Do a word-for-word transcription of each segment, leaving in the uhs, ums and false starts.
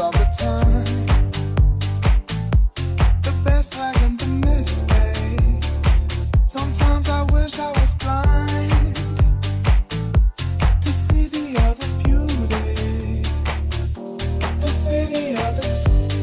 of the time. The best lies in the mistakes. Sometimes I wish I was blind to see the other's beauty, to see the other's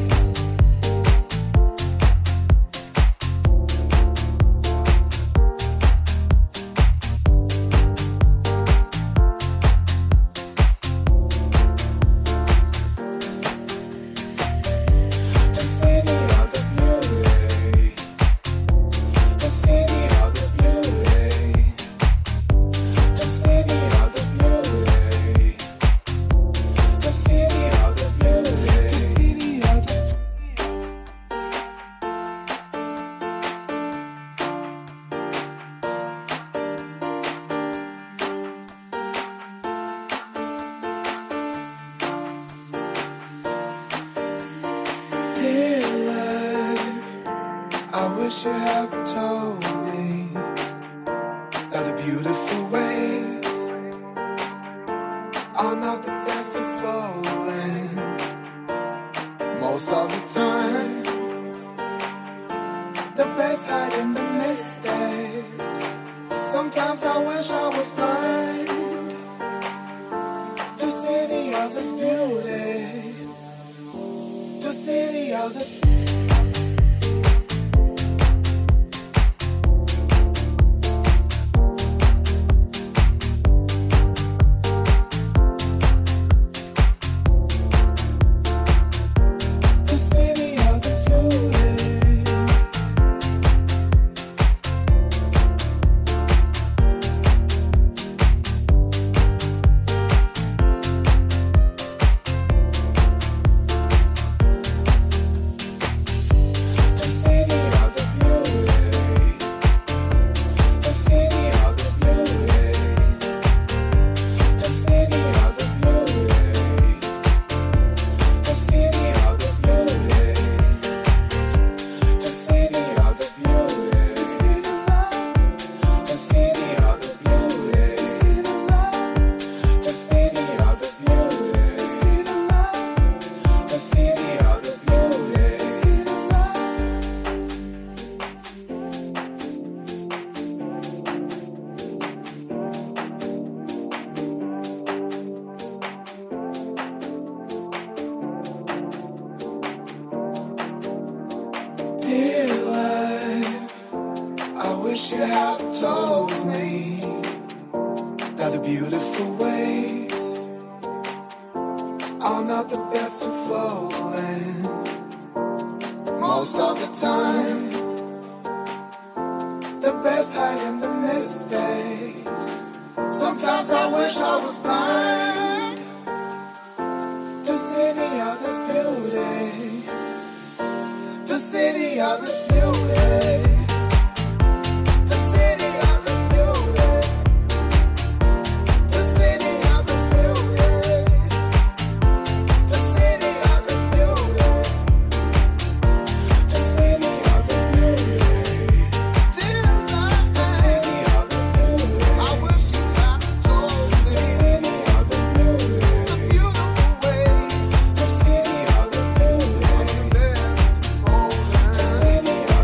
you have told me that the beautiful ways are not the best of falling. Most of the time, the best hides in the mistakes. Sometimes I wish I was blind to see the other's beauty, to see the other's beauty. See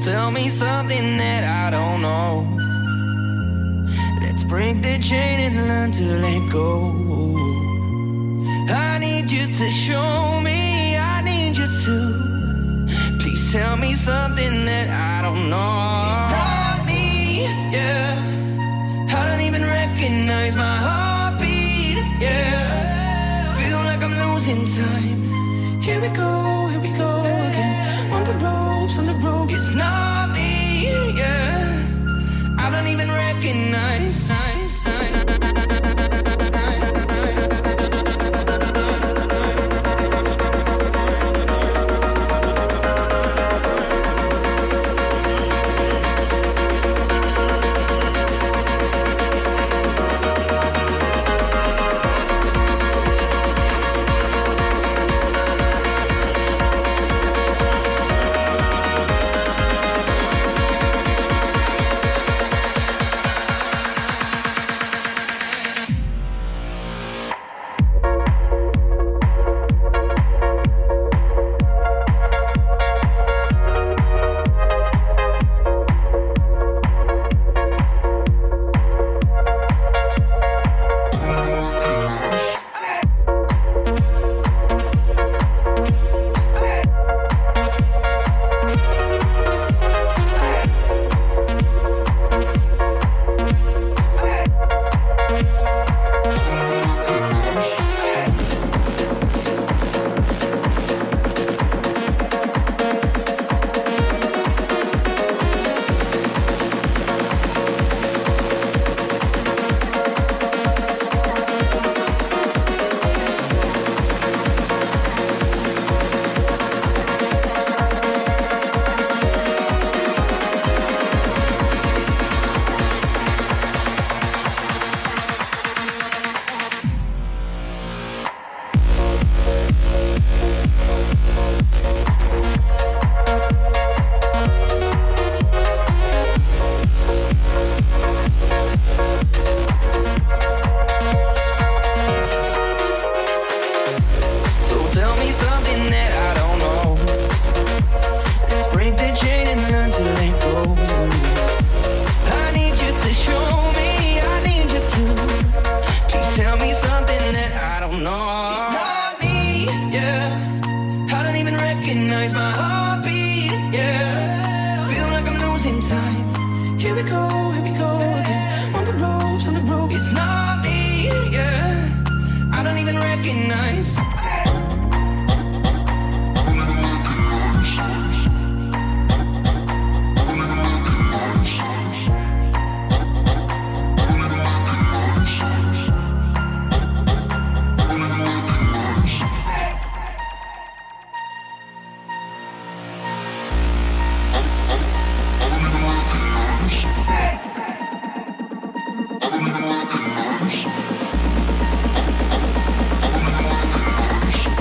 tell me something that I don't know. Let's break the chain and learn to let go. I need you to show me, I need you to. Please tell me something that I don't know. It's not me, yeah. I don't even recognize my heartbeat, yeah. Feel like I'm losing time. Here we go, here we go again. On the ropes, on the ropes. It's not me, yeah. I don't even recognize sign, sign. I don't even recognize.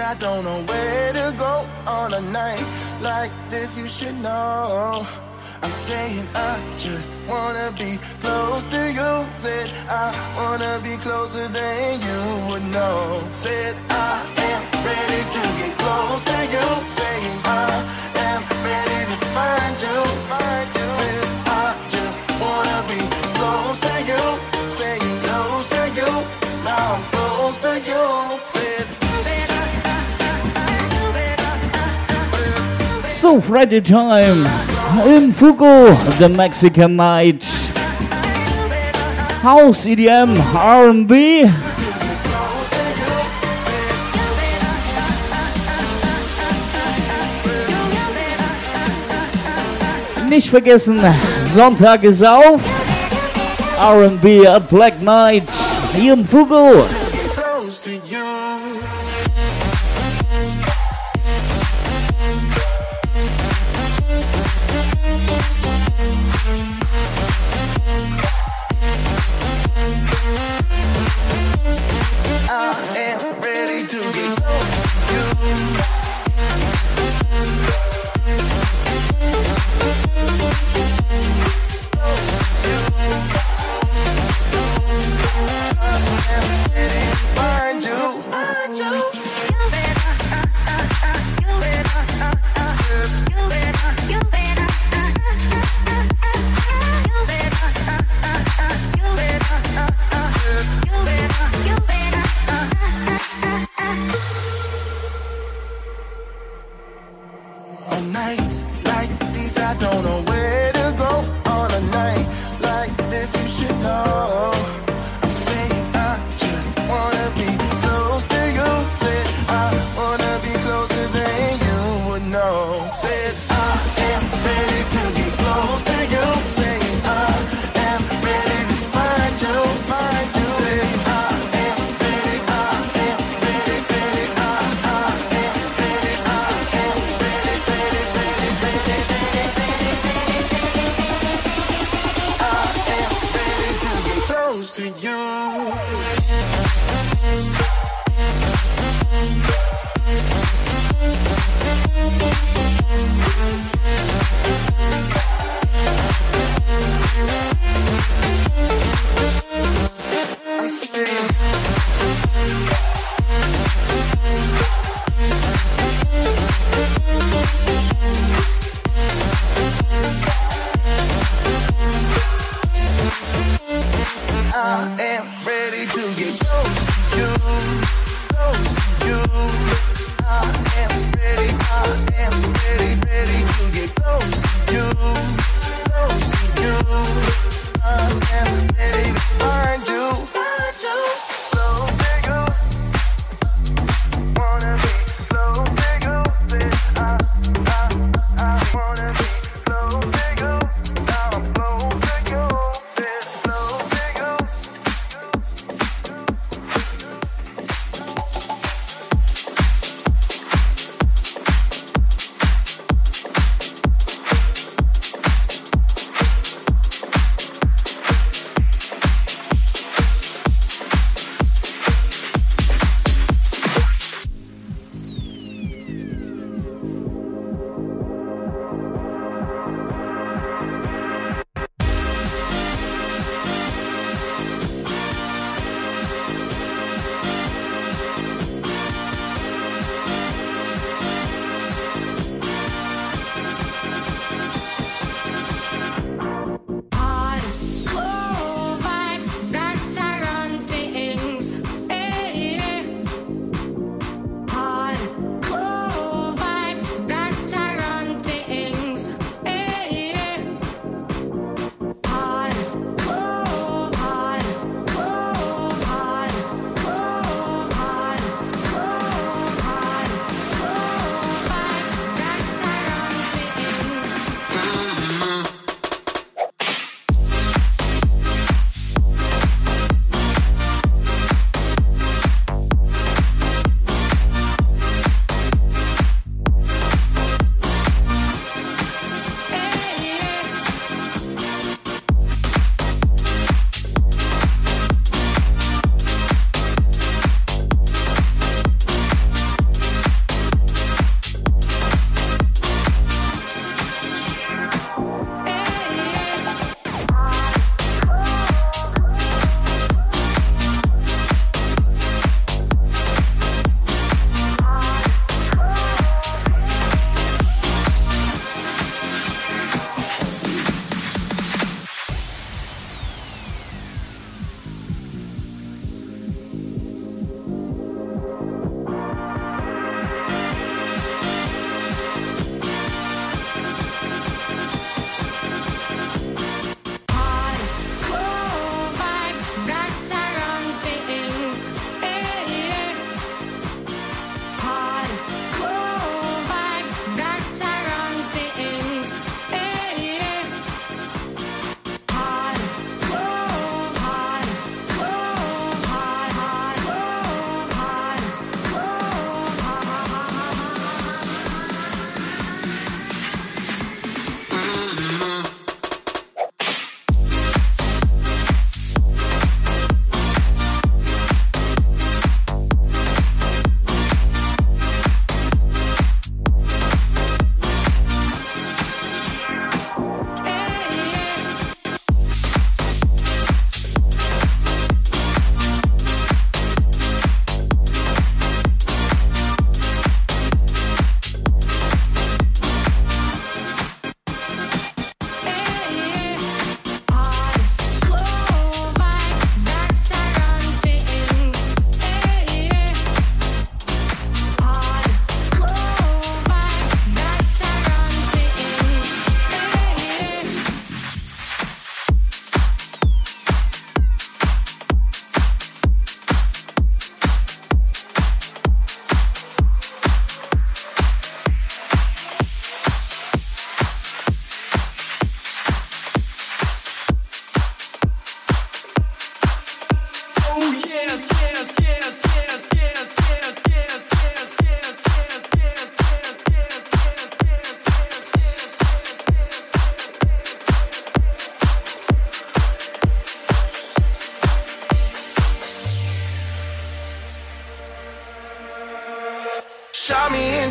I don't know where to go on a night like this. You should know. I'm saying I just wanna be close to you. Said I wanna be closer than you would know. Said I am ready to get close to you. Saying I am ready to find you. Said I just wanna be close to you. Saying close to you. Now I'm close to you. Said So Friday time in Fugo, the Mexican night. House, E D M, R and B. Nicht vergessen, Sonntag ist auf. R and B at Black Night hier im Fugo.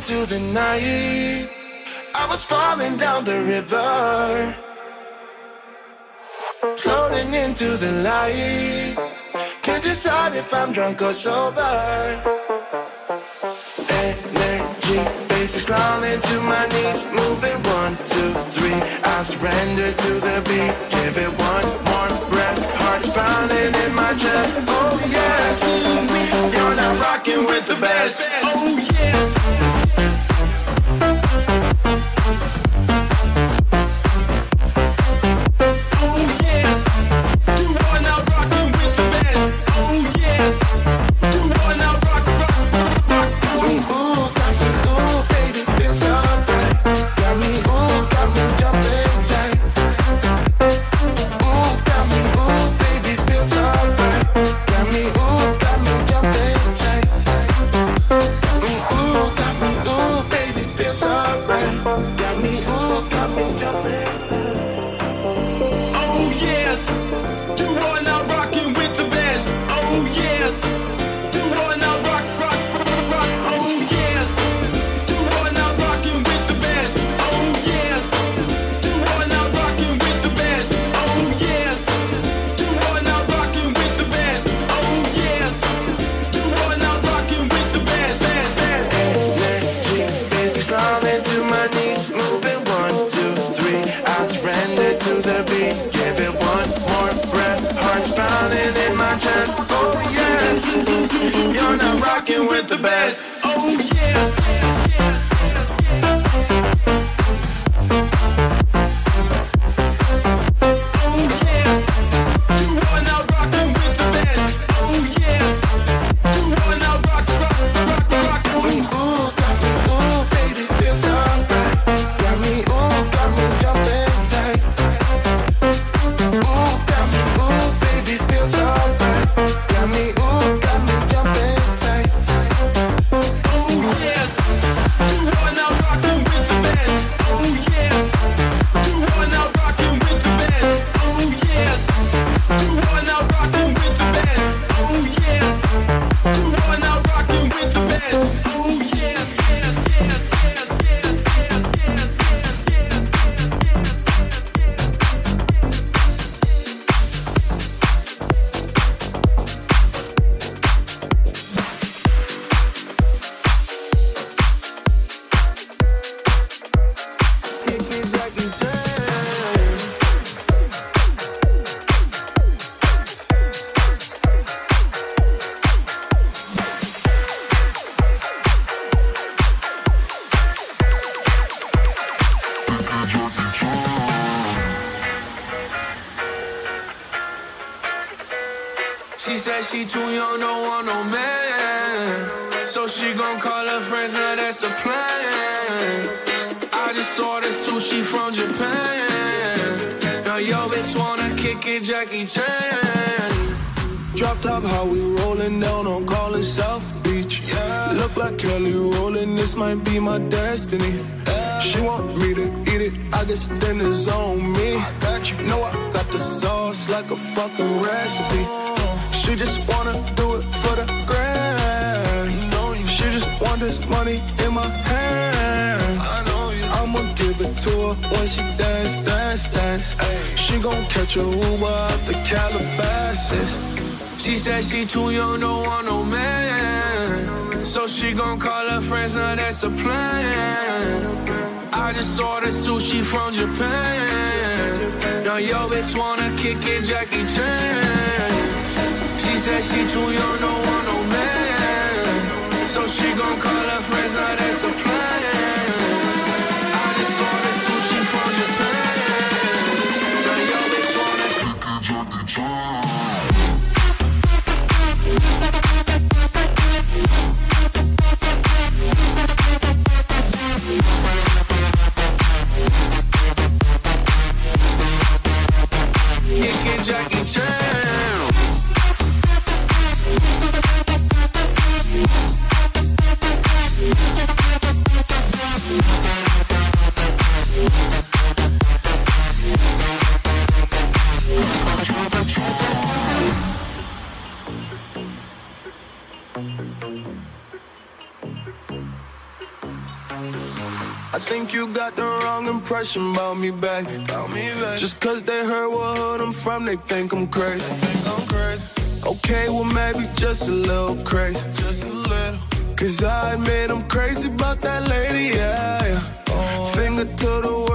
into the night. I was falling down the river, floating into the light. Can't decide if I'm drunk or sober. Energy, bass is crawling to my knees, moving one, two, three. I surrender to the beat. Give it one more breath. Heart is pounding in my chest. Oh yes, you're not rocking with the best. Oh yes. She too young, don't want no man. So she gon' call her friends, now that's a plan. I just ordered sushi from Japan. Now yo bitch wanna kick it, Jackie Chan. Drop top, how we rollin' down on Call it South Beach. Yeah. Look like Kelly rollin', this might be my destiny. Yeah. She want me to eat it, I guess then it's on me. I got you, know I got the sauce like a fucking recipe. She just wanna do it for the grand. She just want this money in my hand. I'ma give it to her when she dance, dance, dance. She gon' catch a Uber out the Calabasas. She said she too young, don't want no man. So she gon' call her friends, now that's a plan. I just ordered sushi from Japan. Now yo bitch wanna kick it, Jackie Chan. She said she too young, don't want no man. So she gon' call her friends, now that's a plan. I just ordered sushi from Japan. Now yo bitch wanna kick it, Jackie Chan. We'll be right back. think you got the wrong impression about me, back. About me, back. Just cause they heard what hood I'm from, they think I'm crazy. Think I'm crazy. Okay, well maybe just a little crazy. Just a little. Cause I admit I'm crazy about that lady, yeah, yeah. Oh. Finger to the